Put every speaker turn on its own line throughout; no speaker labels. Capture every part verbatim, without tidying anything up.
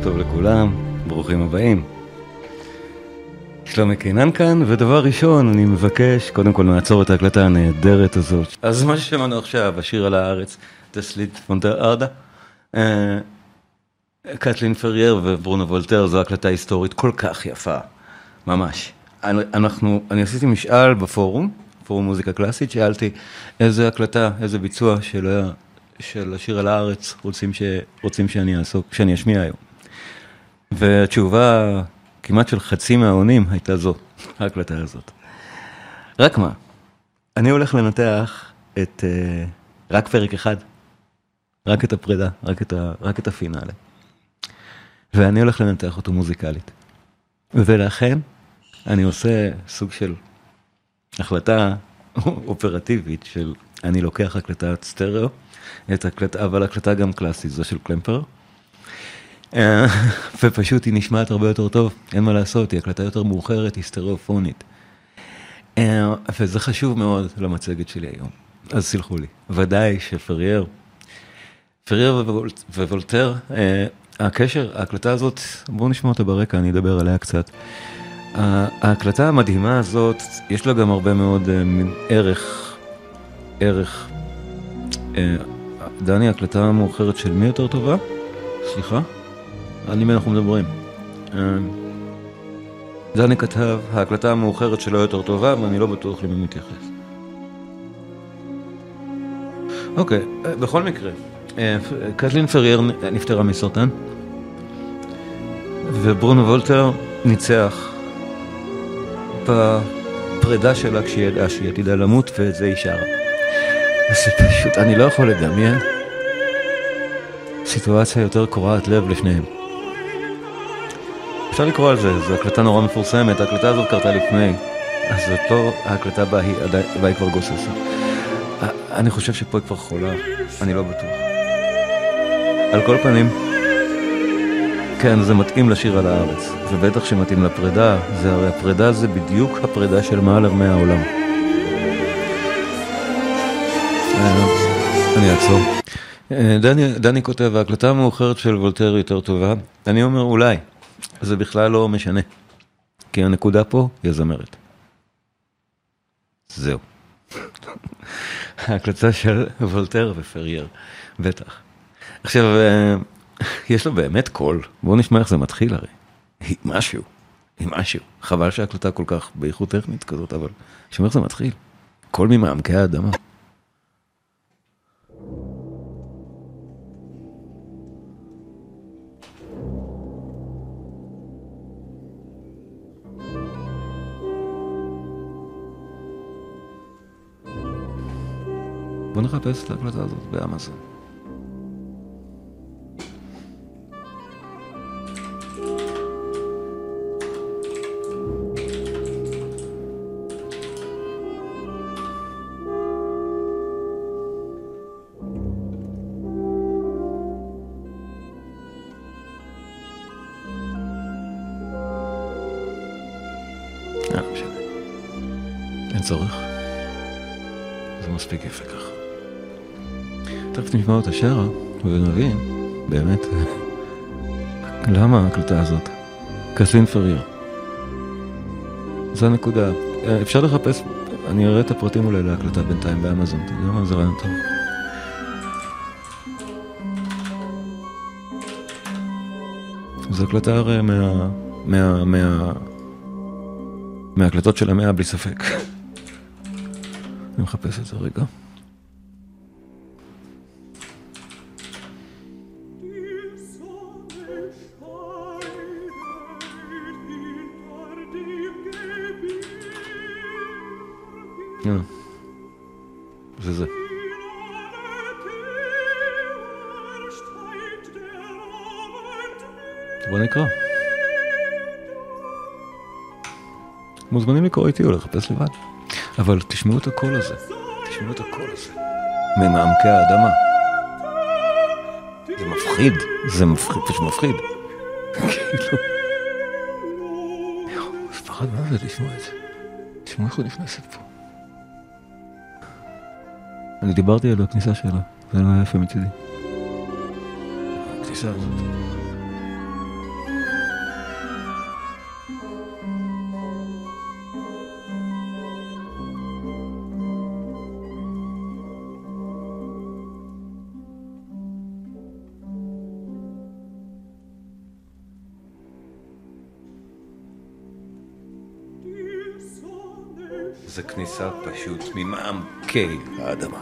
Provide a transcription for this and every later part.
טוב לכולם, ברוכים הבאים. שלומי קינן כאן, ודבר ראשון אני מבקש, קודם כל נעצור את ההקלטה הנהדרת הזאת. אז מה ששמענו עכשיו, השיר על הארץ, תסליט פונטר ארדה, קטלין פרייר וברונו וולטר, זו הקלטה היסטורית כל כך יפה, ממש. אנחנו, אני עשיתי משאל בפורום, פורום מוזיקה קלאסית, שאלתי איזה הקלטה, איזה ביצוע של, של השיר על הארץ רוצים, ש, רוצים שאני אעסוק, שאני אשמיע היום. והתשובה כמעט של חצי מהעונים הייתה זו, ההקלטה הזאת. רק מה, אני הולך לנתח את, רק פרק אחד, רק את הפרידה, רק את, ה, רק את הפינאלה. ואני הולך לנתח אותו מוזיקלית. ולכן אני עושה סוג של החלטה אופרטיבית של אני לוקח הקלטת סטריאו, את הקלטה, אבל הקלטה גם קלאסית, זו של קלמפר. ופשוט היא נשמעת הרבה יותר טוב, אין מה לעשות, היא הקלטה יותר מאוחרת, היא סטריאופונית. וזה חשוב מאוד למצגת שלי היום, אז סלחו לי. ודאי שפרייר, פרייר ווולטר, הקשר, ההקלטה הזאת, בואו נשמע אותה ברקע, אני אדבר עליה קצת. ההקלטה המדהימה הזאת, יש לה גם הרבה מאוד ערך, ערך. דני, ההקלטה המאוחרת של מי יותר טובה? סליחה? על מי אנחנו מדברים? דני כתב, ההקלטה המאוחרת שלו יותר טובה, ואני לא בטוח למי מתייחס. אוקיי, בכל מקרה, קטלין פרייר נפטרה מסרטן, וברונו וולטר ניצח בפרידה שלה כשהיא ידעה שהיא עתידה למות, וזה היא שרה. זה פשוט, אני לא יכול לדמיין סיטואציה יותר קורעת לב לשניהם. אפשר לקרוא על זה, זו הקלטה נורא מפורסמת, ההקלטה הזאת קרתה לפני, אז זאת לא ההקלטה בה היא, בה היא כבר גוססה. אני חושב שפה היא כבר חולה, אני לא בטוח. על כל פנים, כן, זה מתאים לשיר על הארץ, ובטח שמתאים לפרידה, זה הרי הפרידה זה בדיוק הפרידה של מעלר מהעולם. אני אעצור. דני, דני כותב, ההקלטה המאוחרת של וולטר יותר טובה, אני אומר אולי, זה בכלל לא משנה, כי הנקודה פה היא הזמרת. זהו. ההקלטה של וולטר ופרייר, בטח. עכשיו, יש לו באמת קול, בואו נשמע איך זה מתחיל הרי. היא משהו, היא משהו. חבל שההקלטה כל כך באיכות טכנית כזאת, אבל שמע איך זה מתחיל. קול ממעמקי האדמה. בוא נחפש את ההקלטה הזאת באמזון. אה, משנה. אין צורך. זה מספיק יפה ככה. תכף נשמע אותה שרה, ונבין, באמת, למה ההקלטה הזאת? קטלין פרייר. זו הנקודה. אפשר לחפש, אני אראה את הפרטים אולי להקלטה בינתיים באמזון, אתה יודע מה? זה רעיון טוב. זו הקלטה הרי מה... מה... מה... מההקלטות של המאה בלי ספק. אני מחפש את זה רגע. זה זה. בוא נקרא. מוזמנים לקרוא איתי או לחפש לבד. אבל תשמעו את הקול הזה. תשמעו את הקול הזה. ממעמקי האדמה. זה מפחיד. זה מפחיד, פשוט מפחיד. כאילו. זה פחד מה זה לשמוע את זה. תשמעו איך הוא נכנסת פה. אני דיברתי על הכניסה שלה, זה לא היה יפה מצידי. הכניסה הזאת. זה כניסה פשוט ממעמקי האדמה.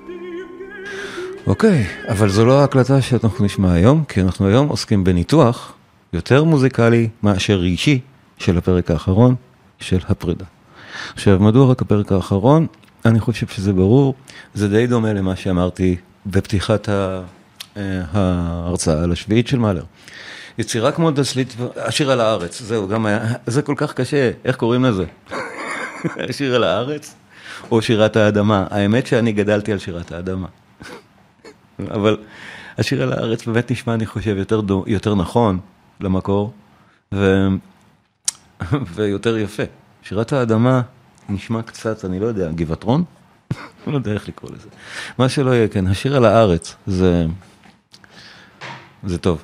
אוקיי, אבל זו לא ההקלטה שאנחנו נשמע היום, כי אנחנו היום עוסקים בניתוח יותר מוזיקלי מאשר רגשי של הפרק האחרון של הפרידה. עכשיו, מדוע רק הפרק האחרון? אני חושב שזה ברור, זה די דומה למה שאמרתי בפתיחת ההרצאה על השביעית של מאלר. יצירה כמו דסלית, השיר על הארץ, זהו, גם היה, זה כל כך קשה, איך קוראים לזה? השיר על הארץ או שירת האדמה? האמת שאני גדלתי על שירת האדמה. אבל השיר על הארץ באמת נשמע, אני חושב, יותר, דו, יותר נכון למקור, ו... ויותר יפה. שירת האדמה נשמע קצת, אני לא יודע, גבעתרון? לא יודע איך לקרוא לזה. מה שלא יהיה, כן, השיר על הארץ, זה, זה טוב.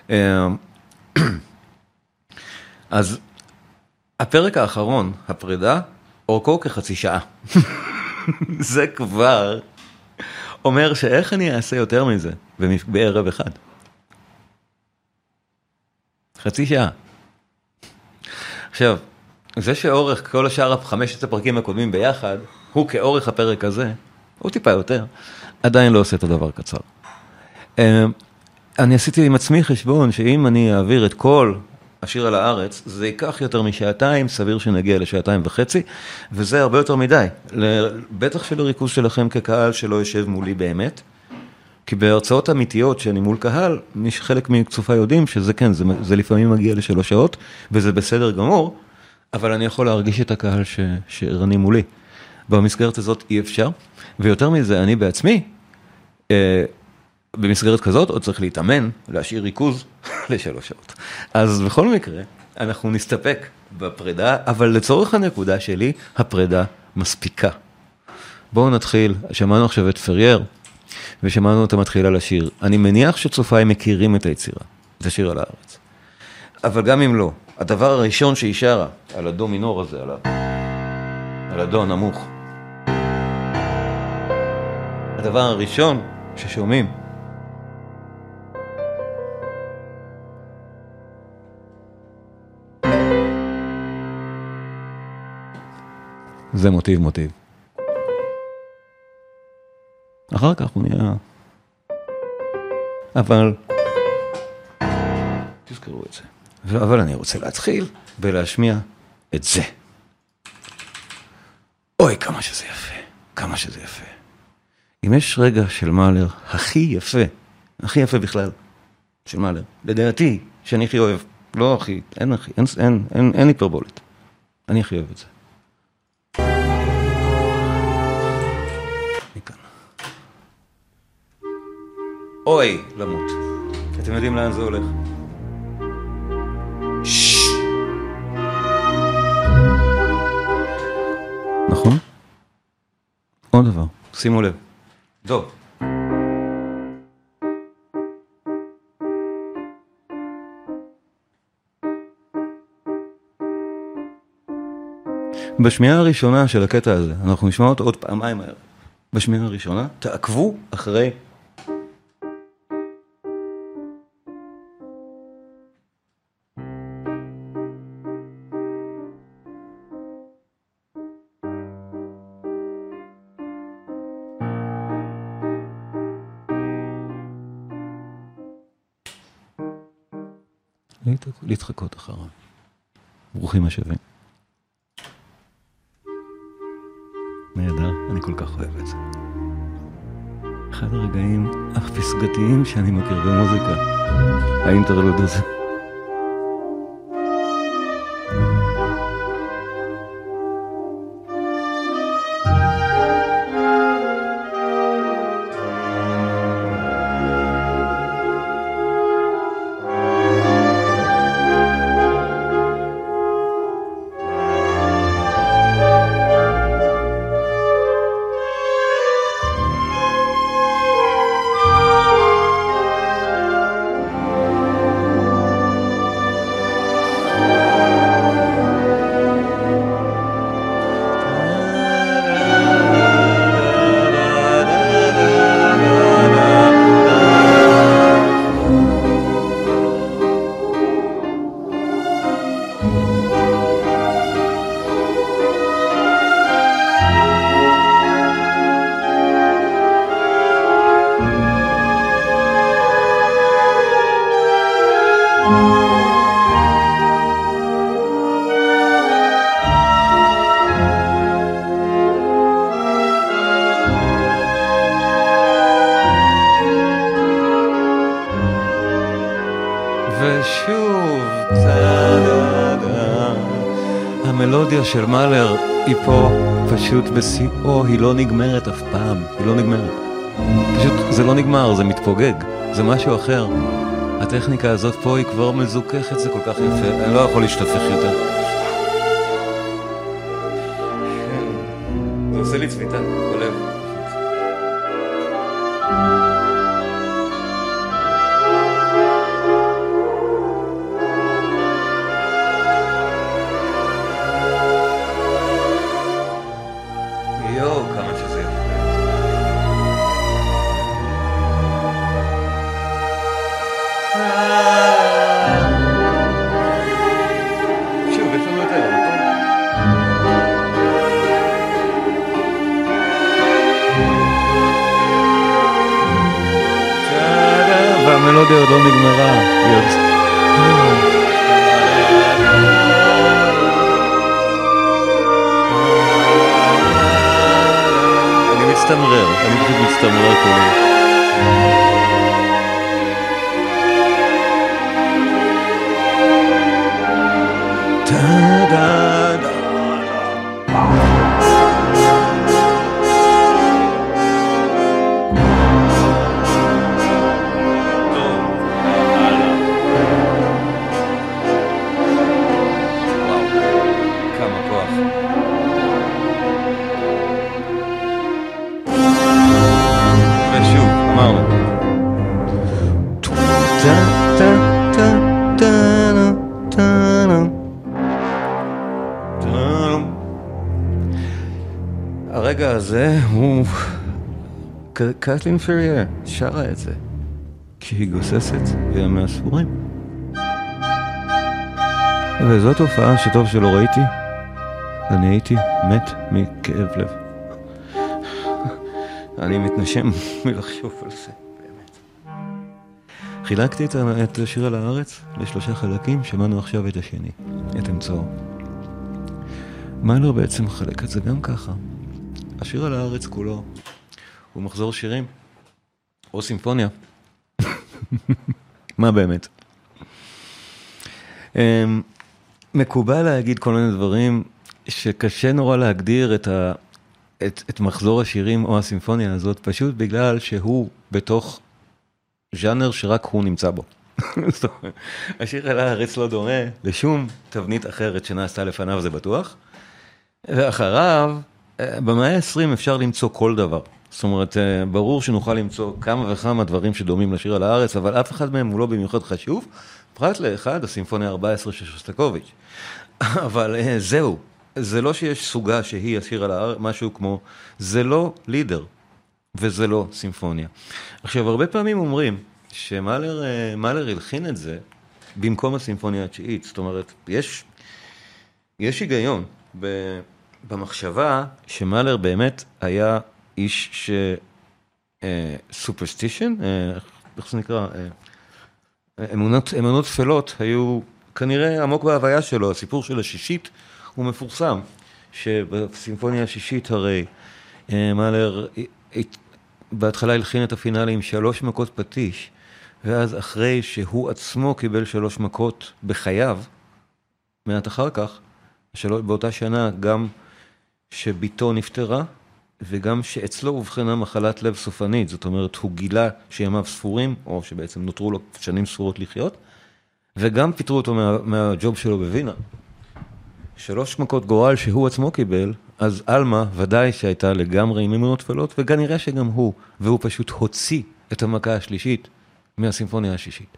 אז הפרק האחרון, הפרידה, אורכו כחצי שעה. זה כבר אומר שאיך אני אעשה יותר מזה בערב אחד. חצי שעה. עכשיו, זה שאורך כל השאר חמשת הפרקים הקודמים ביחד, הוא כאורך הפרק הזה, הוא טיפה יותר, עדיין לא עושה את הדבר קצר. אני עשיתי עם עצמי חשבון שאם אני אעביר את כל השיר על הארץ, זה ייקח יותר משעתיים, סביר שנגיע לשעתיים וחצי, וזה הרבה יותר מדי. בטח של הריכוז שלכם כקהל שלא יושב מולי באמת, כי בהרצאות אמיתיות שאני מול קהל, חלק מקצופה יודעים שזה כן, זה, זה לפעמים מגיע לשלוש שעות, וזה בסדר גמור, אבל אני יכול להרגיש את הקהל ש, שרני מולי. במסגרת הזאת אי אפשר, ויותר מזה, אני בעצמי, אה, במסגרת כזאת עוד צריך להתאמן, להשאיר ריכוז לשלוש שעות. אז בכל מקרה, אנחנו נסתפק בפרידה, אבל לצורך הנקודה שלי, הפרידה מספיקה. בואו נתחיל, שמענו עכשיו את פרייר, ושמענו אותה מתחילה לשיר. אני מניח שצופיי מכירים את היצירה, זה שיר על הארץ. אבל גם אם לא, הדבר הראשון שהיא שרה, על הדו מינור הזה, על, ה... על הדו הנמוך, הדבר הראשון ששומעים, זה מוטיב מוטיב. אחר כך הוא נהיה... אבל... תזכרו את זה. אבל אני רוצה להתחיל ולהשמיע את זה. אוי, כמה שזה יפה. כמה שזה יפה. אם יש רגע של מאלר הכי יפה, הכי יפה בכלל, של מאלר, לדעתי, שאני הכי אוהב, לא הכי, אין הכי, אין, אין, אין, אין היפרבולית. אני הכי אוהב את זה. מכאן. אוי, למות. אתם יודעים לאן זה הולך? ששש. נכון? עוד דבר, שימו לב. טוב. בשמיעה הראשונה של הקטע הזה, אנחנו נשמע אותו עוד פעמיים הערב. בשמיעה הראשונה, תעקבו אחרי... להתחקות אחריו. ברוכים השבים. נהדר, אני כל כך אוהב את זה. אחד הרגעים הפסגתיים שאני מכיר במוזיקה. האינטרלוד הזה. המלודיה של מאלר היא פה פשוט בשיאו, היא לא נגמרת אף פעם, היא לא נגמרת. פשוט זה לא נגמר, זה מתפוגג, זה משהו אחר. הטכניקה הזאת פה היא כבר מזוכחת, זה כל כך יפה, אני לא יכול להשתפך יותר. זה עושה לי צביטה בלב. יואו, כמה שזה יפה. שוב, יש לנו יותר, נכון? והמלודיה עוד לא נגמרה. אני מצטמרר, אני פשוט מצטמרר כולי. הרגע הזה הוא... קטלין פרייר שרה את זה כשהיא גוססת בימי הספורים. וזו תופעה שטוב שלא ראיתי. אני הייתי מת מכאב לב. אני מתנשם מלחשוב על זה, באמת. חילקתי את השיר על הארץ לשלושה חלקים, שמענו עכשיו את השני, את אמצעו. מאלר בעצם חלק את זה גם ככה. השיר על הארץ כולו הוא מחזור שירים, או סימפוניה. מה באמת? מקובל להגיד כל מיני דברים שקשה נורא להגדיר את, ה, את, את מחזור השירים או הסימפוניה הזאת, פשוט בגלל שהוא בתוך ז'אנר שרק הוא נמצא בו. השיר על הארץ לא דומה לשום תבנית אחרת שנעשתה לפניו, זה בטוח. ואחריו, במאה ה-עשרים אפשר למצוא כל דבר. זאת אומרת, ברור שנוכל למצוא כמה וכמה דברים שדומים לשיר על הארץ, אבל אף אחד מהם הוא לא במיוחד חשוב, פרט לאחד, הסימפוניה ארבע עשרה של שוסטקוביץ'. אבל זהו, זה לא שיש סוגה שהיא השיר על הארץ, משהו כמו, זה לא לידר, וזה לא סימפוניה. עכשיו, הרבה פעמים אומרים שמאלר מאלר הלחין את זה במקום הסימפוניה התשיעית. זאת אומרת, יש, יש היגיון ב... במחשבה שמאלר באמת היה איש ש... סופרסטישן, איך זה נקרא? אמונות, אמונות תפלות היו כנראה עמוק בהוויה שלו. הסיפור של השישית הוא מפורסם, שבסימפוניה השישית הרי מאלר בהתחלה הלחין את הפינאלי עם שלוש מכות פטיש, ואז אחרי שהוא עצמו קיבל שלוש מכות בחייו, מעט אחר כך, באותה שנה גם שביתו נפטרה, וגם שאצלו הובחנה מחלת לב סופנית, זאת אומרת, הוא גילה שימיו ספורים, או שבעצם נותרו לו שנים ספורות לחיות, וגם פיטרו אותו מה, מהג'וב שלו בווינה. שלוש מכות גורל שהוא עצמו קיבל, אז אלמה ודאי שהייתה לגמרי עם אמונות תפלות, וכנראה שגם הוא, והוא פשוט הוציא את המכה השלישית מהסימפוניה השישית.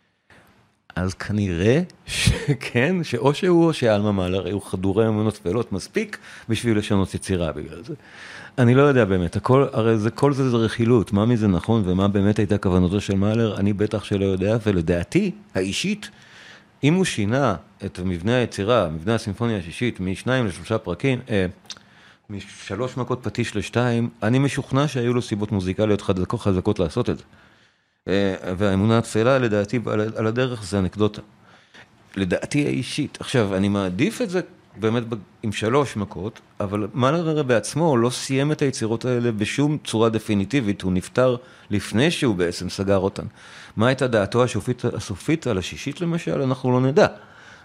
אז כנראה שכן, שאו שהוא או שאלמה מאלר היו חדורי אמונות תפלות מספיק בשביל לשנות יצירה בגלל זה. אני לא יודע באמת, הכל, הרי זה, כל זה זה רכילות, מה מזה נכון ומה באמת הייתה כוונתו של מאלר, אני בטח שלא יודע, ולדעתי האישית, אם הוא שינה את מבנה היצירה, מבנה הסימפוניה השישית, משניים לשלושה פרקים, אה, משלוש מכות פטיש לשתיים, אני משוכנע שהיו לו סיבות מוזיקליות חזקות, חזקות לעשות את זה. והאמונה התפלה, לדעתי, על הדרך זה אנקדוטה. לדעתי האישית. עכשיו, אני מעדיף את זה באמת עם שלוש מכות, אבל מאלר בעצמו לא סיים את היצירות האלה בשום צורה דפיניטיבית, הוא נפטר לפני שהוא בעצם סגר אותן. מה הייתה דעתו הסופית, הסופית על השישית למשל? אנחנו לא נדע.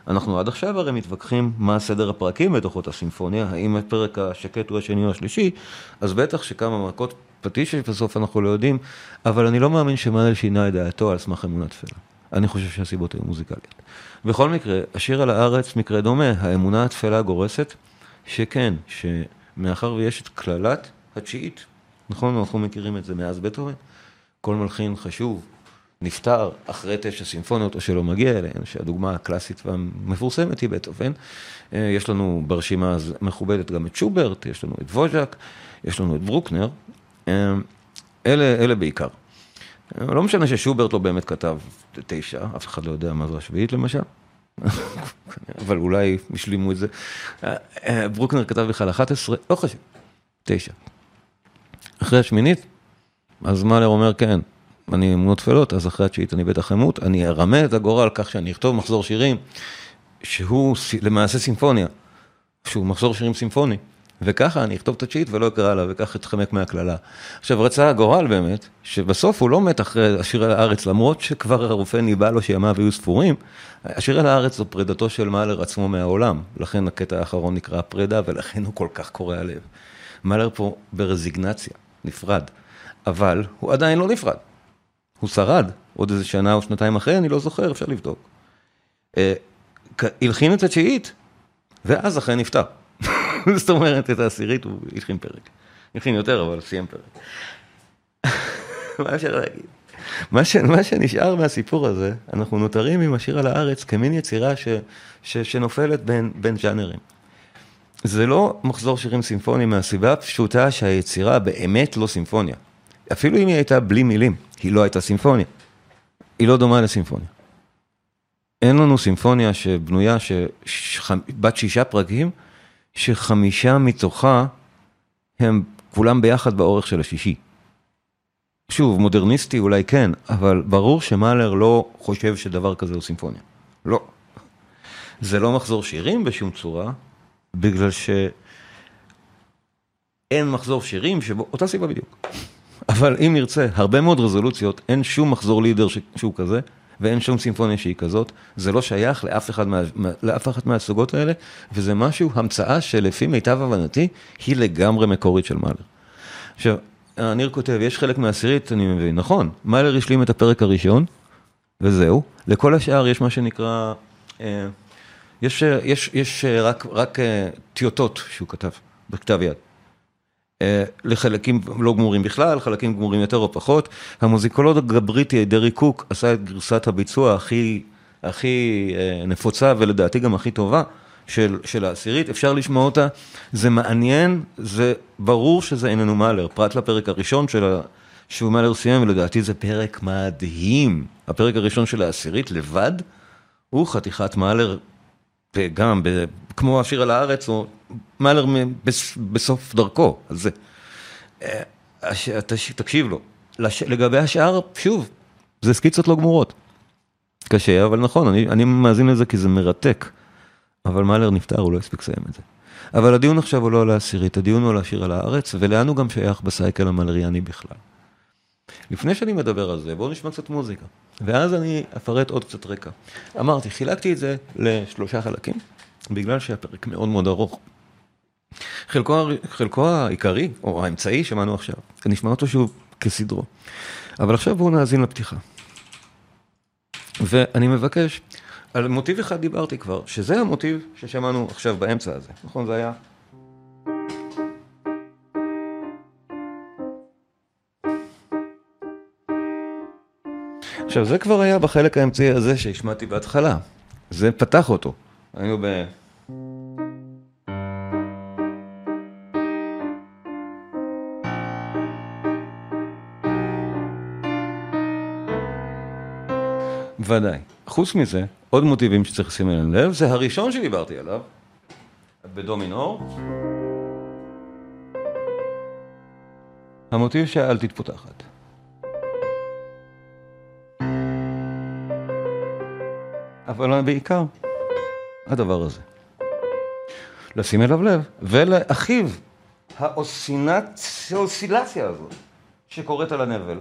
אנחנו עד עכשיו הרי מתווכחים מה סדר הפרקים בתוך אותה סימפוניה, האם הפרק השקט הוא השני או השלישי, אז בטח שכמה מכות פטיש בסוף אנחנו לא יודעים, אבל אני לא מאמין שמאהלר שינה את דעתו על סמך אמונה תפלה. אני חושב שהסיבות היו מוזיקליות. בכל מקרה, השיר על הארץ מקרה דומה, האמונה התפלה גורסת, שכן, שמאחר ויש את כללת התשיעית, נכון, אנחנו מכירים את זה מאז בטהובן, כל מלחין חשוב, נפטר אחרי תשע סימפוניות או שלא מגיע אליהן, שהדוגמה הקלאסית והמפורסמת היא בטהובן. יש לנו ברשימה מכובדת גם את שוברט, יש לנו את ווז'ק, יש לנו את ברוקנר, אלה, אלה בעיקר. לא משנה ששוברט לא באמת כתב תשע, אף אחד לא יודע מה זו השביעית למשל, אבל אולי השלימו את זה. ברוקנר כתב בכלל אחת עשרה, לא חשוב, תשע. אחרי השמינית, אז מאהלר אומר כן, אני אמונות תפלות, אז אחרי התשיעית אני בטח אמות, אני ארמה את הגורל כך שאני אכתוב מחזור שירים, שהוא למעשה סימפוניה, שהוא מחזור שירים סימפוני, וככה אני אכתוב את התשיעית ולא אקרא עליו, וכך אתחמק מהכללה. עכשיו רצה הגורל באמת, שבסוף הוא לא מת אחרי השיר על הארץ, למרות שכבר הרופא ניבא לו שימיו היו ספורים, השיר על הארץ זו פרידתו של מאהלר עצמו מהעולם, לכן הקטע האחרון נקרא פרידה, ולכן הוא כל כך קורע הלב. מאהלר פה ברזיגנציה, נפרד, אבל הוא עדיין לא נפרד. הוא שרד, עוד איזה שנה או שנתיים אחרי, אני לא זוכר, אפשר לבדוק. הלחין את התשיעית, ואז אחרי נפטר. זאת אומרת, את העשירית הוא הלחין פרק. הלחין יותר, אבל סיים פרק. מה אפשר להגיד? מה, ש... מה שנשאר מהסיפור הזה, אנחנו נותרים עם השיר על הארץ כמין יצירה ש... ש... שנופלת בין, בין ז'אנרים. זה לא מחזור שירים סימפוניים מהסיבה הפשוטה שהיצירה באמת לא סימפוניה. אפילו אם היא הייתה בלי מילים, היא לא הייתה סימפוניה. היא לא דומה לסימפוניה. אין לנו סימפוניה שבנויה, בת שישה פרקים, שחמישה מתוכה הם כולם ביחד באורך של השישי. שוב, מודרניסטי אולי כן, אבל ברור שמאהלר לא חושב שדבר כזה הוא סימפוניה. לא. זה לא מחזור שירים בשום צורה, בגלל שאין מחזור שירים שבו, אותה סיבה בדיוק. אבל אם נרצה, הרבה מאוד רזולוציות, אין שום מחזור לידר שהוא כזה, ואין שום סימפוניה שהיא כזאת, זה לא שייך לאף אחד מה, לאף אחת מהסוגות האלה, וזה משהו, המצאה שלפי מיטב הבנתי, היא לגמרי מקורית של מאהלר. עכשיו, ניר כותב, יש חלק מהעשירית, אני מבין, נכון, מאהלר השלים את הפרק הראשון, וזהו, לכל השאר יש מה שנקרא, אה, יש, יש, יש רק, רק אה, טיוטות שהוא כתב, בכתב יד. לחלקים לא גמורים בכלל, חלקים גמורים יותר או פחות. המוזיקולוג הבריטי, דרי קוק, עשה את גרסת הביצוע הכי, הכי נפוצה, ולדעתי גם הכי טובה, של, של העשירית. אפשר לשמוע אותה, זה מעניין, זה ברור שזה איננו מאהלר, פרט לפרק הראשון של, שהוא מאהלר סיים, ולדעתי זה פרק מדהים. הפרק הראשון של העשירית לבד, הוא חתיכת מאהלר, גם ב, כמו השיר על הארץ, או מאהלר בסוף דרכו, על זה. תקשיב לו. לגבי השאר, שוב, זה סקיצות לא גמורות. קשה, אבל נכון, אני, אני מאזין לזה כי זה מרתק. אבל מאהלר נפטר, הוא לא הספיק לסיים את זה. אבל הדיון עכשיו הוא לא על העשירית, הדיון הוא על השיר על הארץ, ולאן הוא גם שייך בסייקל המאהלריאני בכלל. לפני שאני מדבר על זה, בואו נשמע קצת מוזיקה. ואז אני אפרט עוד קצת רקע. אמרתי, חילקתי את זה לשלושה חלקים, בגלל שהפרק מאוד מאוד ארוך. חלקו, חלקו העיקרי, או האמצעי, שמענו עכשיו. נשמע אותו שוב כסדרו. אבל עכשיו בואו נאזין לפתיחה. ואני מבקש, על מוטיב אחד דיברתי כבר, שזה המוטיב ששמענו עכשיו באמצע הזה. נכון, זה היה... עכשיו, זה כבר היה בחלק האמצעי הזה שהשמעתי בהתחלה. זה פתח אותו. היינו ב... ודאי. חוץ מזה, עוד מוטיבים שצריך לשים אליהם לב, זה הראשון שדיברתי עליו, בדו מינור. המוטיב שהאלתית פותחת. אבל בעיקר, הדבר הזה. לשים אליו לב, ולאחיו, האוסילציה הזאת, שקורית על הנבל.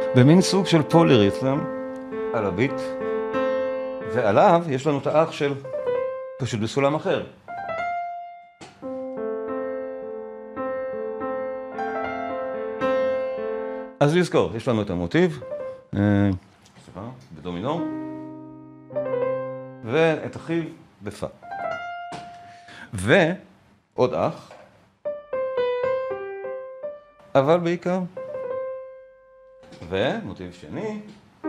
במין סוג של פוליריתם על הביט, ועליו יש לנו את האח של פשוט בסולם אחר. אז לזכור, יש לנו את המוטיב, סליחה, בדומינור, ואת החיל בפא. ועוד אח, אבל בעיקר, ומוטיב שני,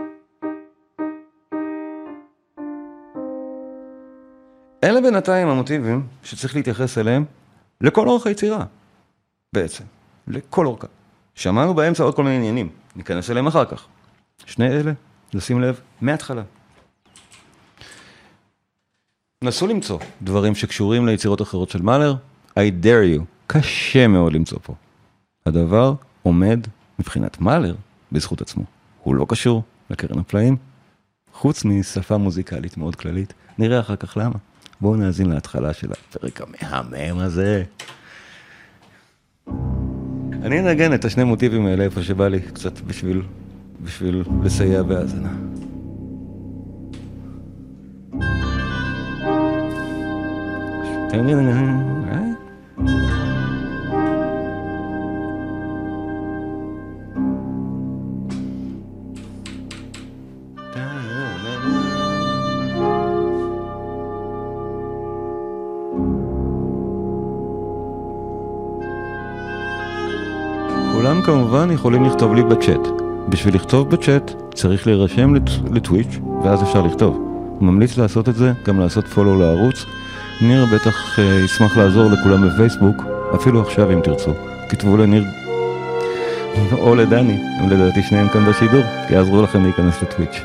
אלה בינתיים המוטיבים שצריך להתייחס אליהם לכל אורך היצירה, בעצם, לכל אורכה. שמענו באמצע עוד כל מיני עניינים, ניכנס אליהם אחר כך. שני אלה, לשים לב, מההתחלה. נסו למצוא דברים שקשורים ליצירות אחרות של מאלר, I dare you, קשה מאוד למצוא פה. הדבר עומד מבחינת מאלר בזכות עצמו. הוא לא קשור לקרן הפלאים, חוץ משפה מוזיקלית מאוד כללית. נראה אחר כך למה. בואו נאזין להתחלה של הפרק המהמם הזה. אני אנגן את השני מוטיבים האלה איפה שבא לי קצת בשביל, בשביל לסייע בהאזנה. כולם כמובן יכולים לכתוב לי בצ'אט. בשביל לכתוב בצ'אט צריך להירשם לטוויץ' ואז אפשר לכתוב. ממליץ לעשות את זה, גם לעשות פולו לערוץ. ניר בטח ישמח לעזור לכולם בפייסבוק, אפילו עכשיו אם תרצו. כתבו לניר או לדני, הם לדעתי שניהם כאן בשידור, יעזרו לכם להיכנס לטוויץ'.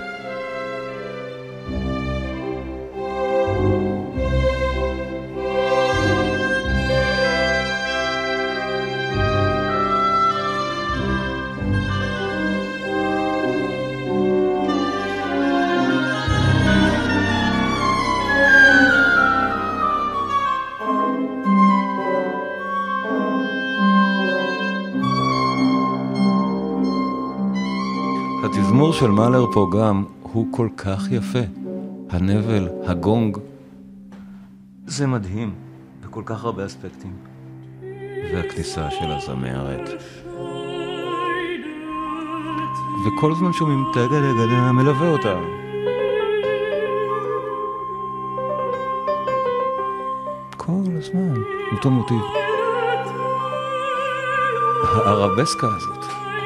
התזמור של מאלר פה גם הוא כל כך יפה. הנבל, הגונג, זה מדהים בכל כך הרבה אספקטים. והכניסה של הזמרת. וכל זמן שומעים תגה לגדה מלווה אותה. כל הזמן, אותו מוטיב. הערבסקה הזאת.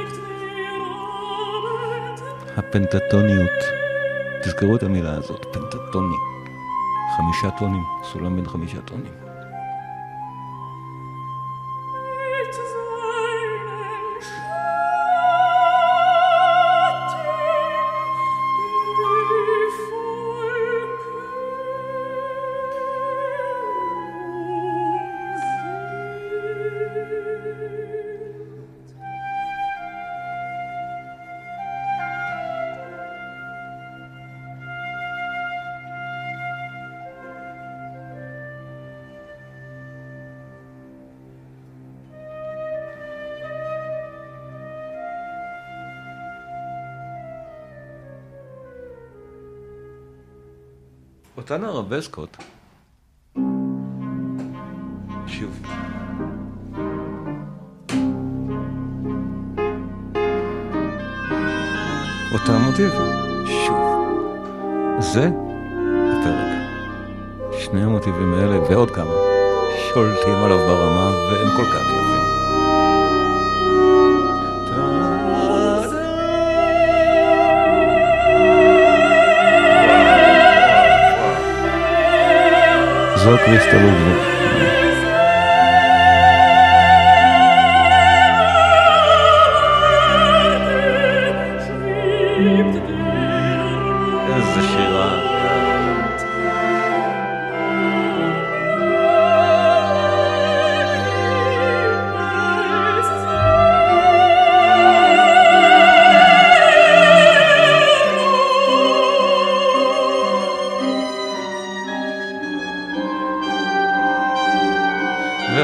הפנטטוניות, תזכרו את המילה הזאת, פנטטוני, חמישה טונים, סולם בין חמישה טונים. אותן הרבסקות, שוב, אותם מוטיב, שוב, זה הפרק. שני המוטיבים האלה ועוד כמה שולטים עליו ברמה והם כל כך יפים. זו קריסטל לודוויג. איזה שירה.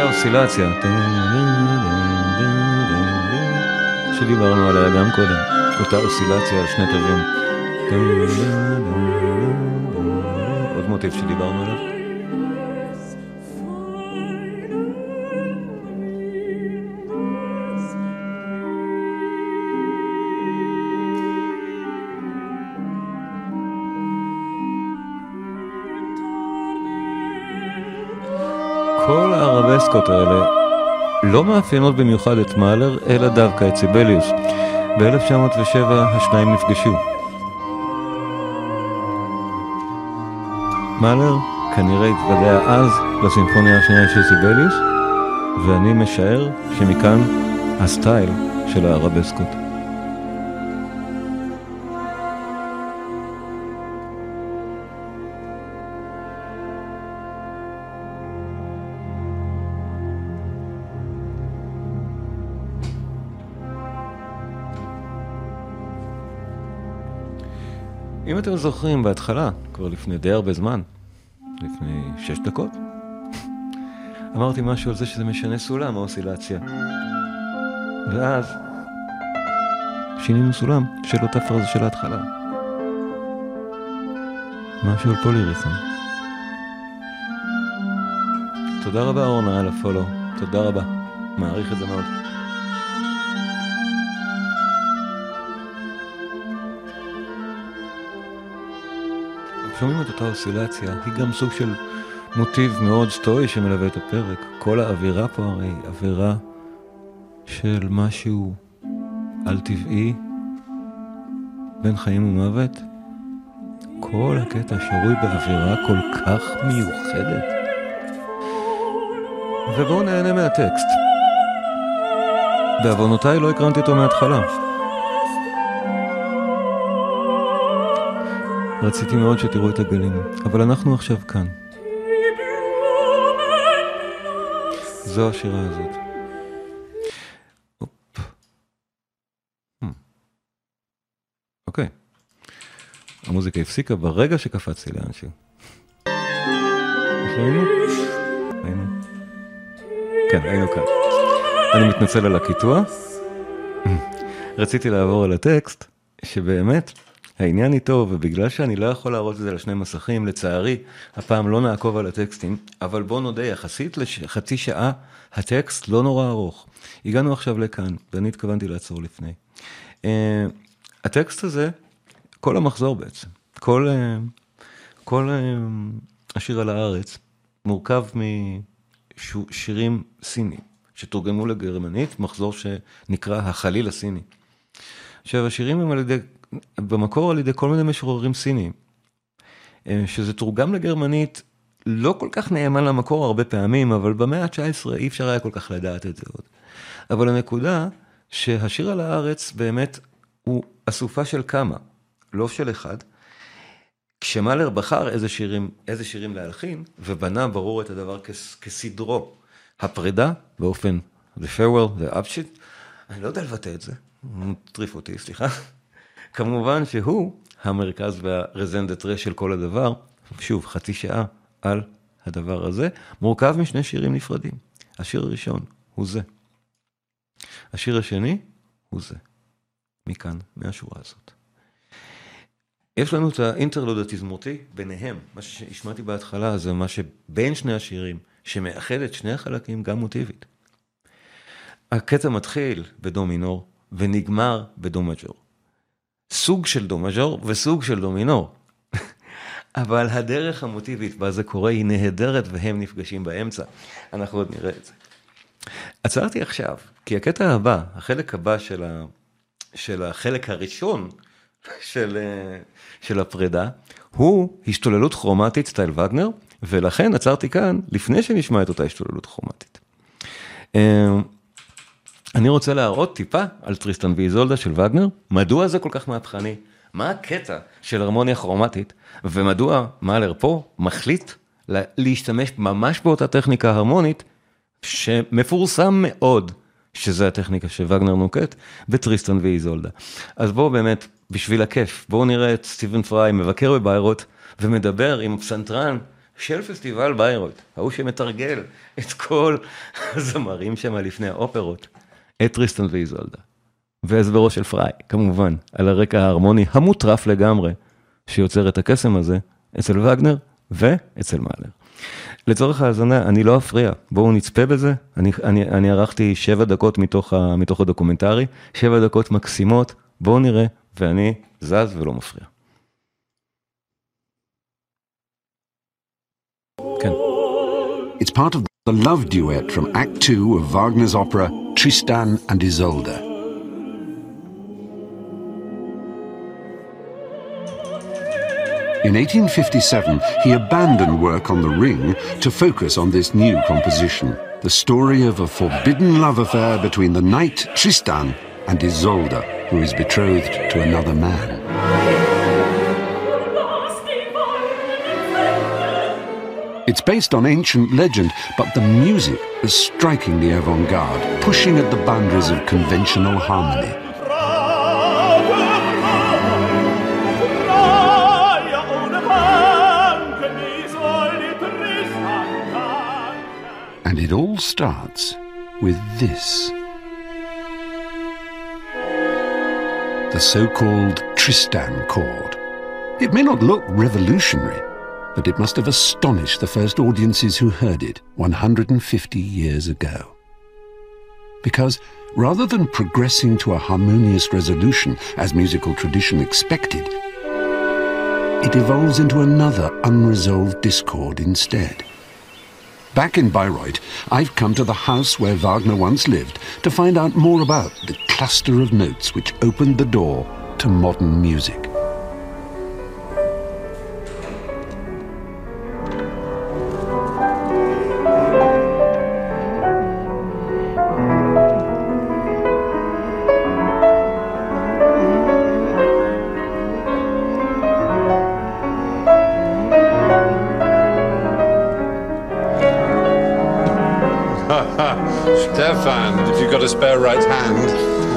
והאוסילציה שדיברנו עליה גם קודם. אותה אוסילציה על שני תווים. עוד מוטיב שדיברנו עליו. כל הערבסקות האלה לא מאפיינות במיוחד את מאלר, אלא דווקא את סיבליוס. ב-אלף תשע מאות ושבע השניים נפגשו. מאלר כנראה התוודע אז לסימפוניה השנייה של סיבליוס, ואני משער שמכאן הסטייל של הערבסקות. אם אתם זוכרים בהתחלה, כבר לפני די הרבה זמן, לפני שש דקות, אמרתי משהו על זה שזה משנה סולם, האוסילציה. ואז שינינו סולם של אותה פרזה של ההתחלה. משהו על פוליריתם. תודה רבה אורנה על הפולו, תודה רבה, מעריך את זה מאוד. שומעים את אותה אוסילציה, היא גם סוג של מוטיב מאוד סטואי שמלווה את הפרק. כל האווירה פה הרי אווירה של משהו על טבעי, בין חיים ומוות. כל הקטע שרוי באווירה כל כך מיוחדת. ובואו נהנה מהטקסט. בעוונותיי לא הקרנתי אותו מההתחלה. רציתי מאוד שתראו את הגלים, אבל אנחנו עכשיו כאן. זו השירה הזאת. אופ. אוקיי. המוזיקה הפסיקה ברגע שקפצתי לאנשהו. היינו? היינו. כן, היינו כאן. אני מתנצל על הקיטוע. רציתי לעבור על הטקסט, שבאמת העניין איתו, ובגלל שאני לא יכול להראות את זה לשני מסכים, לצערי, הפעם לא נעקוב על הטקסטים, אבל בוא נודה, יחסית לחצי שעה, הטקסט לא נורא ארוך. הגענו עכשיו לכאן, ואני התכוונתי לעצור לפני. Uh, הטקסט הזה, כל המחזור בעצם, כל, uh, כל uh, השיר על הארץ, מורכב משירים סינים, שתורגמו לגרמנית, מחזור שנקרא החליל הסיני. עכשיו, השירים הם על ידי במקור על ידי כל מיני משוררים סינים, שזה תורגם לגרמנית, לא כל כך נאמן למקור הרבה פעמים, אבל במאה ה-תשע עשרה אי אפשר היה כל כך לדעת את זה עוד. אבל הנקודה שהשיר על הארץ באמת הוא אסופה של כמה, לא של אחד. כשמאלר בחר איזה שירים, איזה שירים להלחין, ובנה ברור את הדבר כס, כסדרו. הפרידה באופן, the farewell, the upshit, אני לא יודע לבטא את זה, טריף אותי, סליחה. כמובן שהוא המרכז והרזנדטרה של כל הדבר, שוב, חצי שעה על הדבר הזה, מורכב משני שירים נפרדים. השיר הראשון הוא זה. השיר השני הוא זה. מכאן, מהשורה הזאת. יש לנו את האינטרלוד התזמורתי ביניהם, מה שהשמעתי בהתחלה, זה מה שבין שני השירים, שמאחד את שני החלקים גם מוטיבית. הקטע מתחיל בדו מינור, ונגמר בדו מג'ור. סוג של דו מז'ור וסוג של דו מינור. אבל הדרך המוטיבית בה זה קורה היא נהדרת והם נפגשים באמצע. אנחנו עוד נראה את זה. עצרתי עכשיו, כי הקטע הבא, החלק הבא של, ה... של החלק הראשון של, של הפרידה, הוא השתוללות כרומטית סטייל וגנר, ולכן עצרתי כאן לפני שנשמע את אותה השתוללות כרומטית. אני רוצה להראות טיפה על טריסטן ואיזולדה של וגנר, מדוע זה כל כך מהפכני, מה הקטע של הרמוניה כרומטית, ומדוע מאלר פה מחליט להשתמש ממש באותה טכניקה הרמונית, שמפורסם מאוד, שזה הטכניקה שווגנר נוקט, בטריסטן ואיזולדה. אז בואו באמת, בשביל הכיף, בואו נראה את סטיבן פריי מבקר בביירוט, ומדבר עם פסנתרן של פסטיבל ביירוט, ההוא שמתרגל את כל הזמרים שם לפני האופרות, את טריסטן ואיזולדה. והסברו של פריי, כמובן, על הרקע ההרמוני המוטרף לגמרי, שיוצר את הקסם הזה, אצל וגנר ואצל מאלר. לצורך ההאזנה, אני לא אפריע, בואו נצפה בזה, אני, אני, אני ערכתי שבע דקות מתוך, ה, מתוך הדוקומנטרי, שבע דקות מקסימות, בואו נראה, ואני זז ולא מפריע. כן.
It's part of the love duet from Act Two of Wagner's opera Tristan and Isolde. In eighteen fifty-seven, he abandoned work on The Ring to focus on this new composition, the story of a forbidden love affair between the knight Tristan and Isolde, who is betrothed to another man. It's based on ancient legend, but the music is strikingly avant-garde, pushing at the boundaries of conventional harmony. And it all starts with this. The so-called Tristan chord. It may not look revolutionary, but it must have astonished the first audiences who heard it one hundred fifty years ago. Because rather than progressing to a harmonious resolution as musical tradition expected, it evolves into another unresolved discord instead. Back in Bayreuth, I've come to the house where Wagner once lived to find out more about the cluster of notes which opened the door to modern music.
Stefan, if you've got a spare right hand.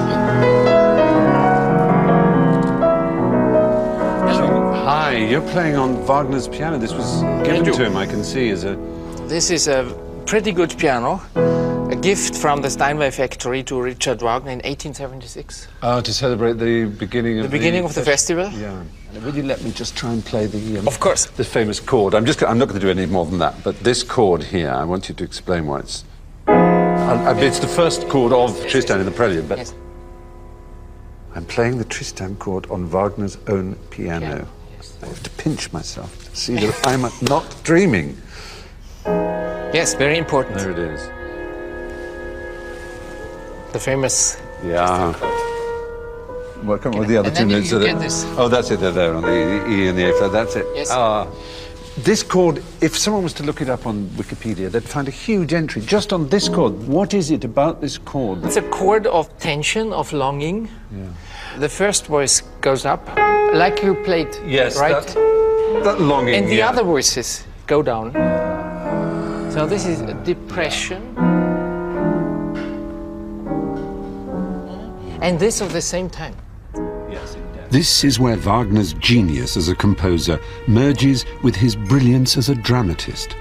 Hello.
Hi, you're playing on Wagner's piano. This was given to him, I can see, as a...
This is a pretty good piano, a gift from the Steinway factory to Richard Wagner in eighteen seventy-six.
Oh, to celebrate the beginning of
the... The beginning of the festival?
Yeah. And will you let me just try and play the... Um,
of course.
The famous chord. I'm just, I'm not going to do any more than that, but this chord here, I want you to explain why it's... Uh, it's the first chord of Tristan in the Prelude, but yes. I'm playing the Tristan chord on Wagner's own piano. piano. Yes. I have to pinch myself to see that I'm not dreaming.
Yes, very important.
There it is.
The famous...
Yeah. Well, come on, with the other two notes.
You get this.
Oh, that's it. They're there on the E and the A flat. That's it.
Yes.
Ah. This chord, if someone was to look it up on Wikipedia, they'd find a huge entry just on this chord. What is it about this chord?
It's a chord of tension, of longing. Yeah. The first voice goes up, like you played,
yes,
right?
That, that longing,
And the
yeah.
other voices go down. So this is a depression. And this at the same time.
This is where Wagner's genius as a composer merges with his brilliance as a dramatist.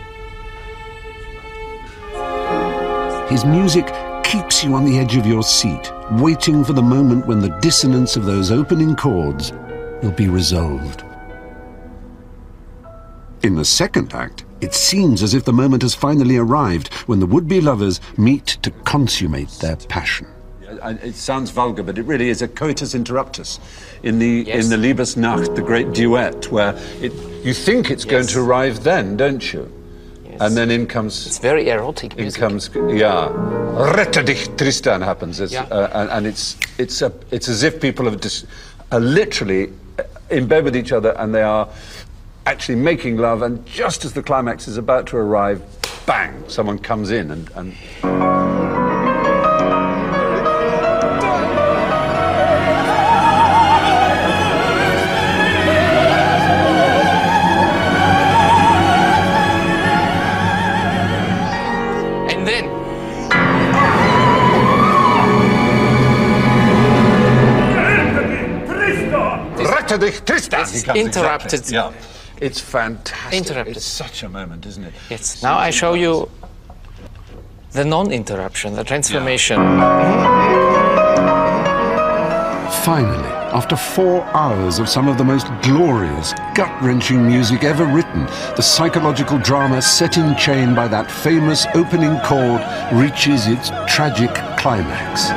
His music keeps you on the edge of your seat, waiting for the moment when the dissonance of those opening chords will be resolved. In the second act, it seems as if the moment has finally arrived when the would-be lovers meet to consummate their passion.
It sounds vulgar, but it really is a coitus interruptus in the
yes.
in the Liebesnacht, the great duet, where it you think it's yes. going to arrive then, don't you? Yes. And then in comes...
It's very erotic
in
music.
comes, yeah. Rette dich, Tristan happens, it's,
yeah.
uh, and, and it's it's a it's as if people have just are literally in bed with each other and they are actually making love, and just as the climax is about to arrive, bang! Someone comes in and. and Tristan.
It's interrupted.
Exactly. Yeah. It's fantastic.
Interrupted.
It's such a moment, isn't it?
Yes. Now I show you the non-interruption, the transformation.
Yeah.
Finally, after four hours of some of the most glorious, gut-wrenching music ever written, the psychological drama set in chain by that famous opening chord reaches its tragic climax.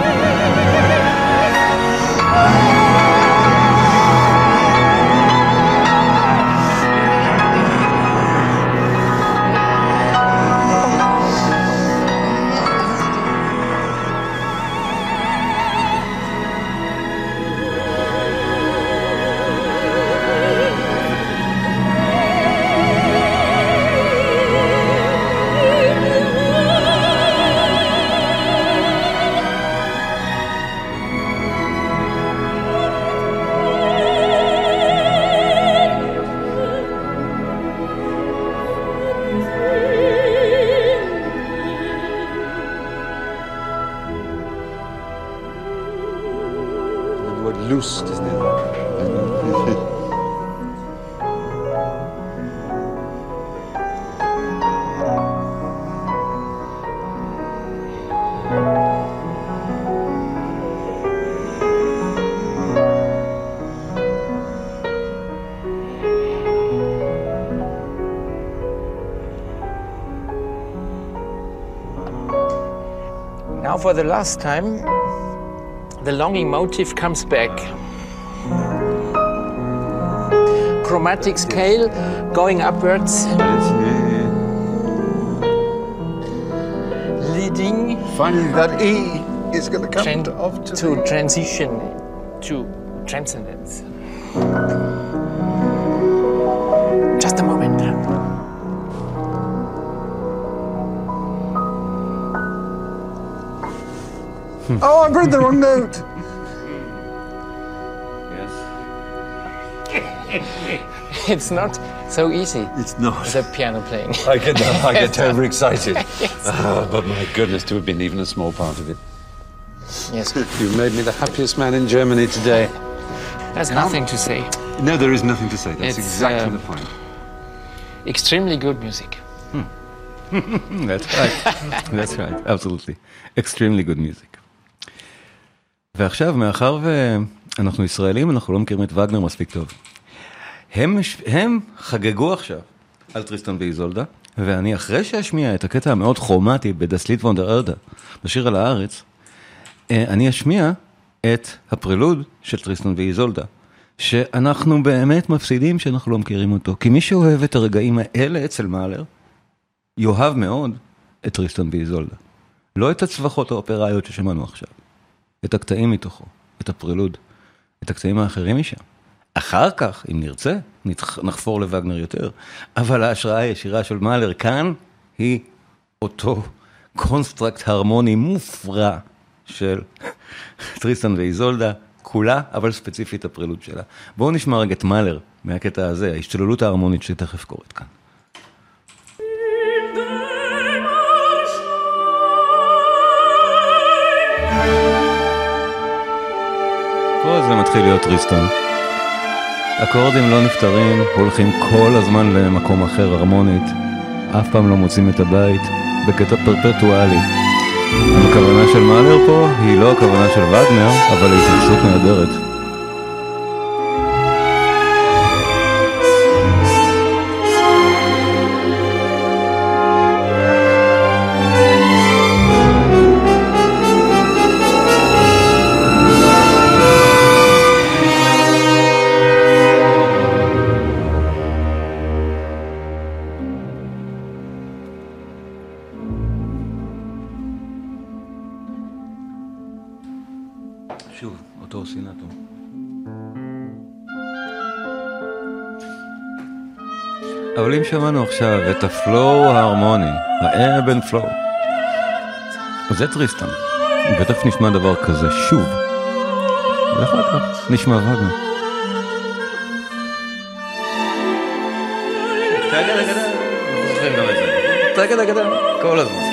Lust, isn't it?
Now for the last time, the longing motif comes back. Chromatic scale going upwards, leading.
Finally, that E is going to come
Tran-
to, off to,
to
the...
transition to transcendence. Just a moment.
Oh, I played the wrong note.
It's not so easy.
It's not.
The piano playing.
I get I get overexcited. Ah, but my goodness, to have been even a small part of it.
Yes.
You've made me the happiest man in Germany today.
There's nothing to say.
No, there is nothing to say. That's
It's,
exactly
um,
the point.
Extremely good music.
That's right. That's right, absolutely. Extremely good music. ועכשיו, מאחר ואנחנו ישראלים, אנחנו לא מכירים את וגנר מספיק טוב. הם, הם חגגו עכשיו על טריסטן ואיזולדה, ואני אחרי שאשמיע את הקטע המאוד כרומטי בדסליט וונדר ארדה, בשיר על הארץ, אני אשמיע את הפרילוד של טריסטן ואיזולדה, שאנחנו באמת מפסידים שאנחנו לא מכירים אותו, כי מי שאוהב את הרגעים האלה אצל מאלר, יאהב מאוד את טריסטן ואיזולדה. לא את הצווחות האופראיות ששמענו עכשיו, את הקטעים מתוכו, את הפרילוד, את הקטעים האחרים משם. אחר כך, אם נרצה, נחפור לווגנר יותר, אבל ההשראה הישירה של מאלר כאן היא אותו קונסטרקט הרמוני מופרע של טריסטן ואיזולדה, כולה, אבל ספציפית הפרילוד שלה. בואו נשמע רגע את מאלר מהקטע הזה, ההשתוללות ההרמונית שתכף קורית כאן. פה זה מתחיל להיות טריסטן. אקורדים לא נפטרים, הולכים כל הזמן למקום אחר הרמונית, אף פעם לא מוצאים את הבית, בקטע פרפרטואלי. הכוונה של מאלר פה היא לא הכוונה של וגנר, אבל היא התייחסות נהדרת. שוב, אותו סינטו. אבל אם שמענו עכשיו את הפלואו ההרמוני, האבן פלואו, זה טריסטן. ותכף נשמע דבר כזה שוב. ואחר כך נשמע וגנר. תגד אגדה, אנחנו זוכרים גם את זה. תגד אגדה, כל הזמן.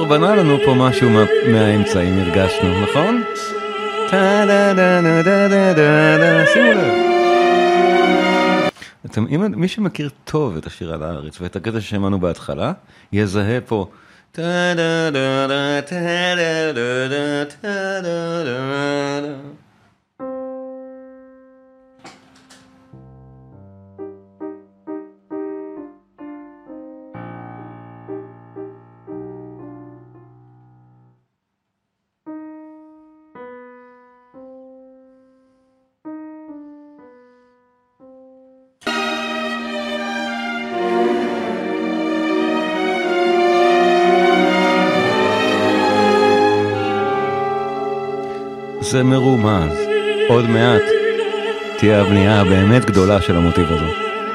בנה לנו פה משהו מה, מהאמצע, אם הרגשנו, נכון? שימו לב. אתם, אם, מי שמכיר טוב את השיר על הארץ ואת הקטע ששמענו בהתחלה, יזהה פה זה מרומז, עוד מעט תהיה הבנייה באמת גדולה של המוטיב הזה.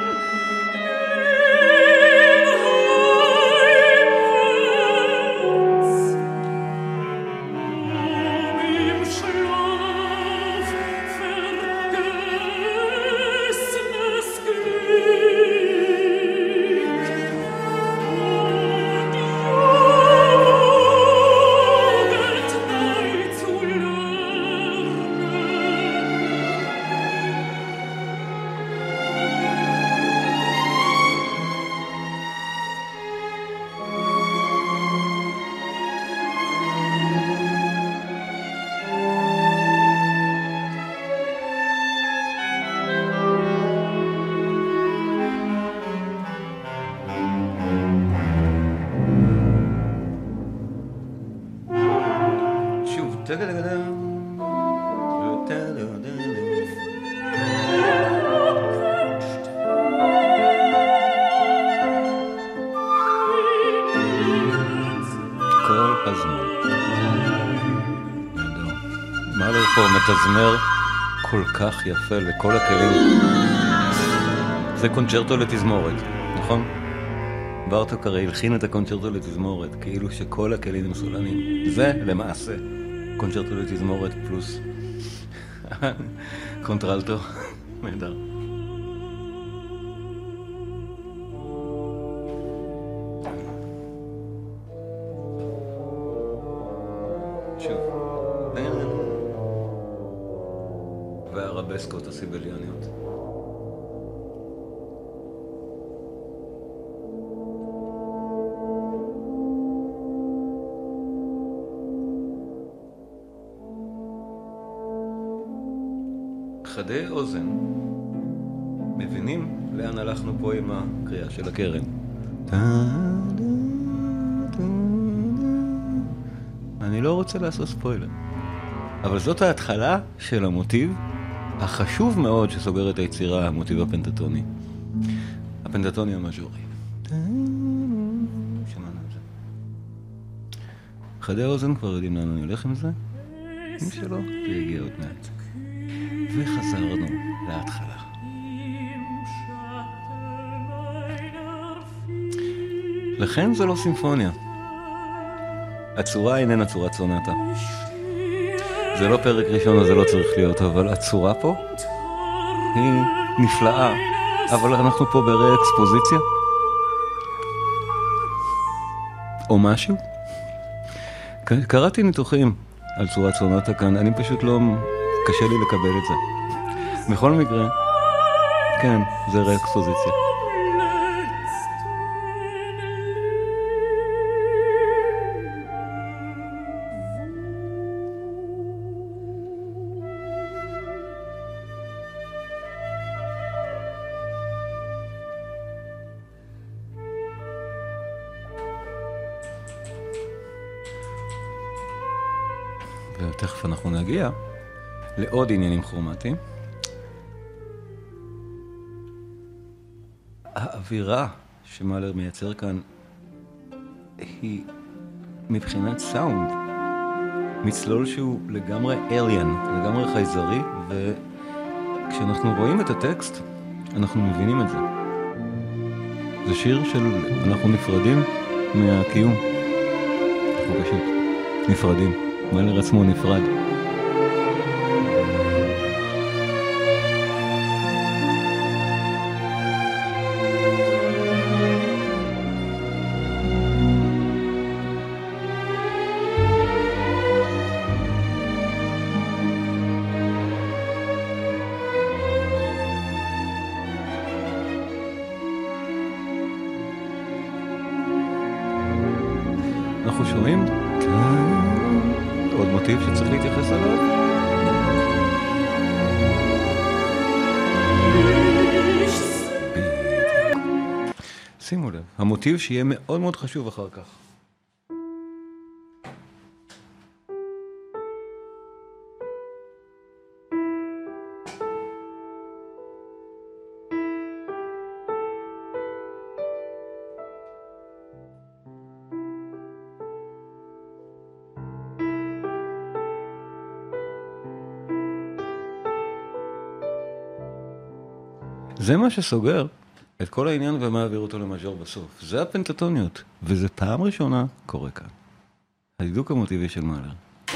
תזמר כל כך יפה לכל הכלים. זה קונצ'רטו לתזמורת, נכון? בארטוק הרי הלחין את הקונצ'רטו לתזמורת, כאילו שכל הכלים הם סולנים. זה למעשה קונצ'רטו לתזמורת פלוס קונטרלטו. נהדר. והרבסקות הסיבליוניות. חדי אוזן מבינים לאן הלכנו פה עם הקריאה של הקרן. אני לא רוצה לעשות ספוילר, אבל זאת ההתחלה של המוטיב החשוב מאוד שסוגר את היצירה, המוטיב הפנטטוני. הפנטטוני המז'ורי. שמענו את זה. חדי האוזן כבר יודעים לאן אני הולך עם זה? מי שלא, זה הגיע עוד מעט. וחזרנו להתחלה. לכן זה לא סימפוניה. הצורה איננה צורת סונטה. זה לא פרק ראשון, אז זה לא צריך להיות, אבל הצורה פה היא נפלאה. אבל אנחנו פה ברי אקספוזיציה. או משהו. קראתי ניתוחים על צורת סונטה כאן, אני פשוט לא... קשה לי לקבל את זה. בכל מקרה, כן, זה רי אקספוזיציה. ותכף אנחנו נגיע לעוד עניינים כרומטיים. האווירה שמאלר מייצר כאן היא מבחינת סאונד מצלול שהוא לגמרי אליאן, לגמרי חייזרי, וכשאנחנו רואים את הטקסט אנחנו מבינים את זה. זה שיר של אנחנו נפרדים מהקיום, אנחנו פשוט נפרדים. מאלר עצמו נפרד. אנחנו שומעים עוד מוטיב שצריך להתייחס אליו. שימו לב, המוטיב שיהיה מאוד מאוד חשוב אחר כך. זה מה שסוגר את כל העניין ומעביר אותו למז'ור בסוף. זה הפנטטוניות, וזה פעם ראשונה קורה כאן. הדידוק המוטיבי של מאלר.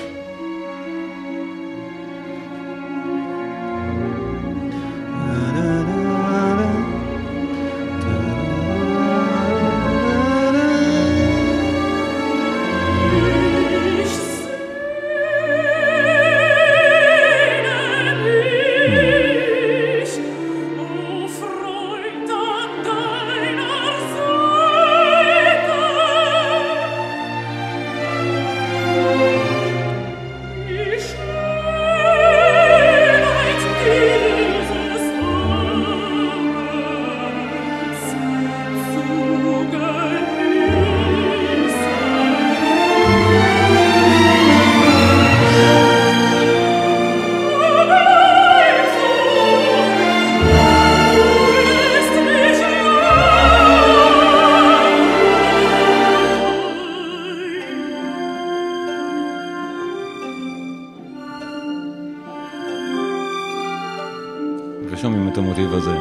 ושומעים את המוטיב הזה.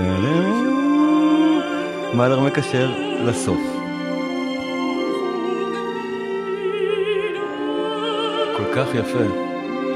מאלר מקשר לסוף. כל כך יפה.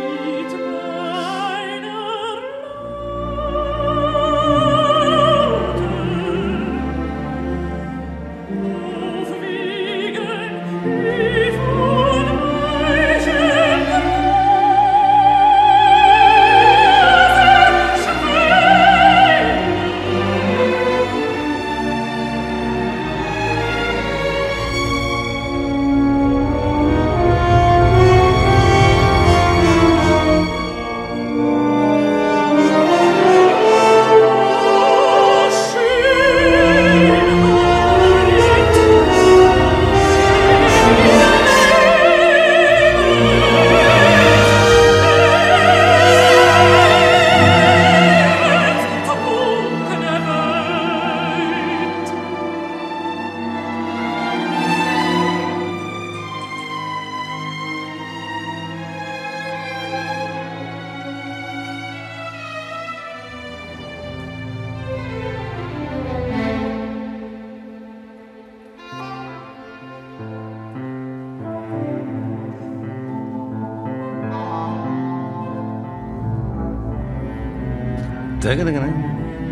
רגע, רגע, רגע.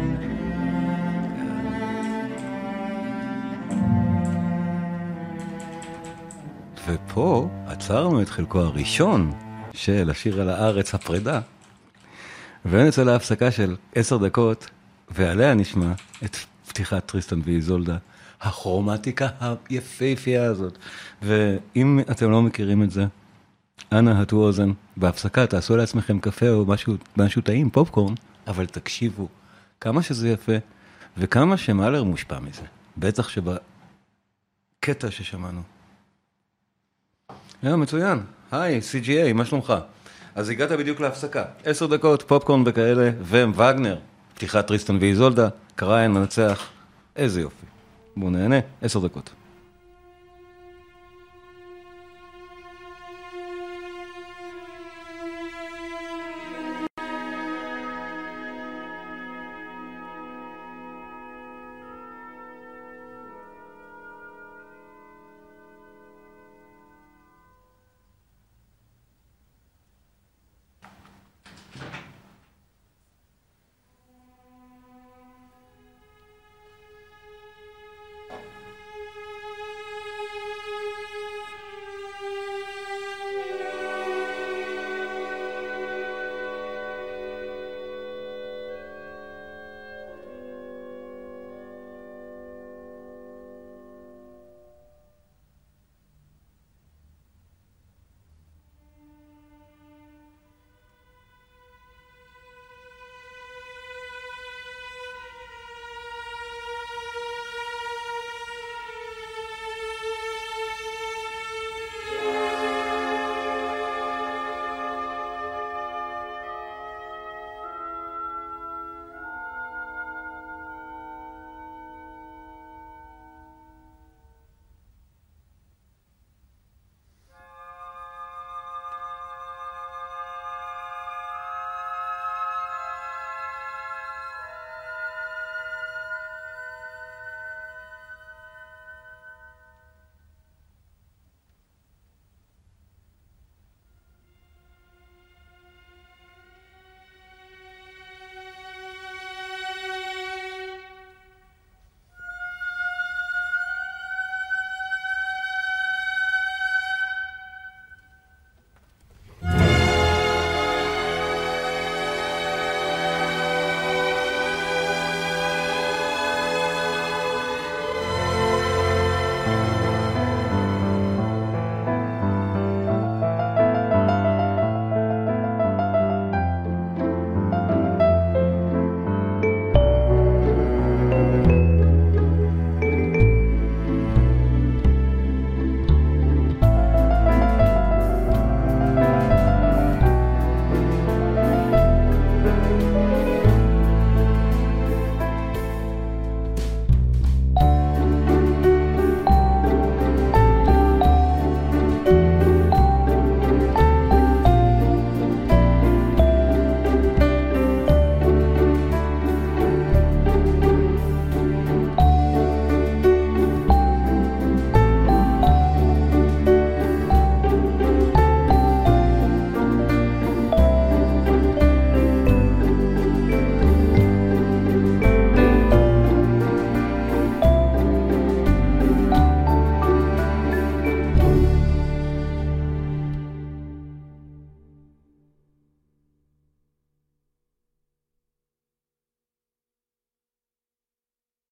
ופה עצרנו את חלקו הראשון של השיר על הארץ הפרידה, ונצא להפסקה של עשר דקות, ועליה נשמע את פתיחת טריסטן ואיזולדה, הכרומטיקה היפהפייה הזאת. ואם אתם לא מכירים את זה, אנא הטו אוזן, בהפסקה תעשו לעצמכם קפה או משהו, משהו טעים, פופקורן, אבל תקשיבו כמה שזה יפה, וכמה שמאלר מושפע מזה. בטח שבקטע ששמענו. היה מצוין. היי, סי ג'י איי, מה שלומך? אז הגעת בדיוק להפסקה. עשר דקות, פופקורן וכאלה, ווגנר, פתיחת טריסטן ואיזולדה, קראיין מנצח. איזה יופי. בואו נהנה, עשר דקות.